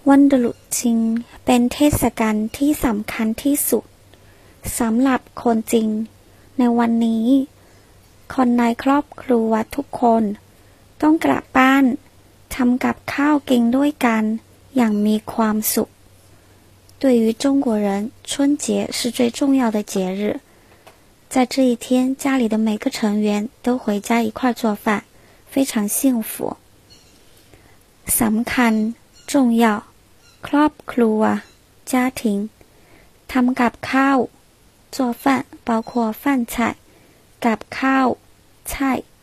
วันตรุษจีนเป็นเทศกาลที่สำคัญที่สุดสำหรับคนจีนในวันนี้คนในครอบครัวทุกคนต้องกลับบ้านทำกับข้าวกินด้วยกันอย่างมีความสุข对于中国人春节是最重要的节日在这一天家里的每个成员都回家一块做饭非常幸福สำคัญ重要ครอบครัว家庭ทำกับข้าว做饭包括饭菜กับข้าว菜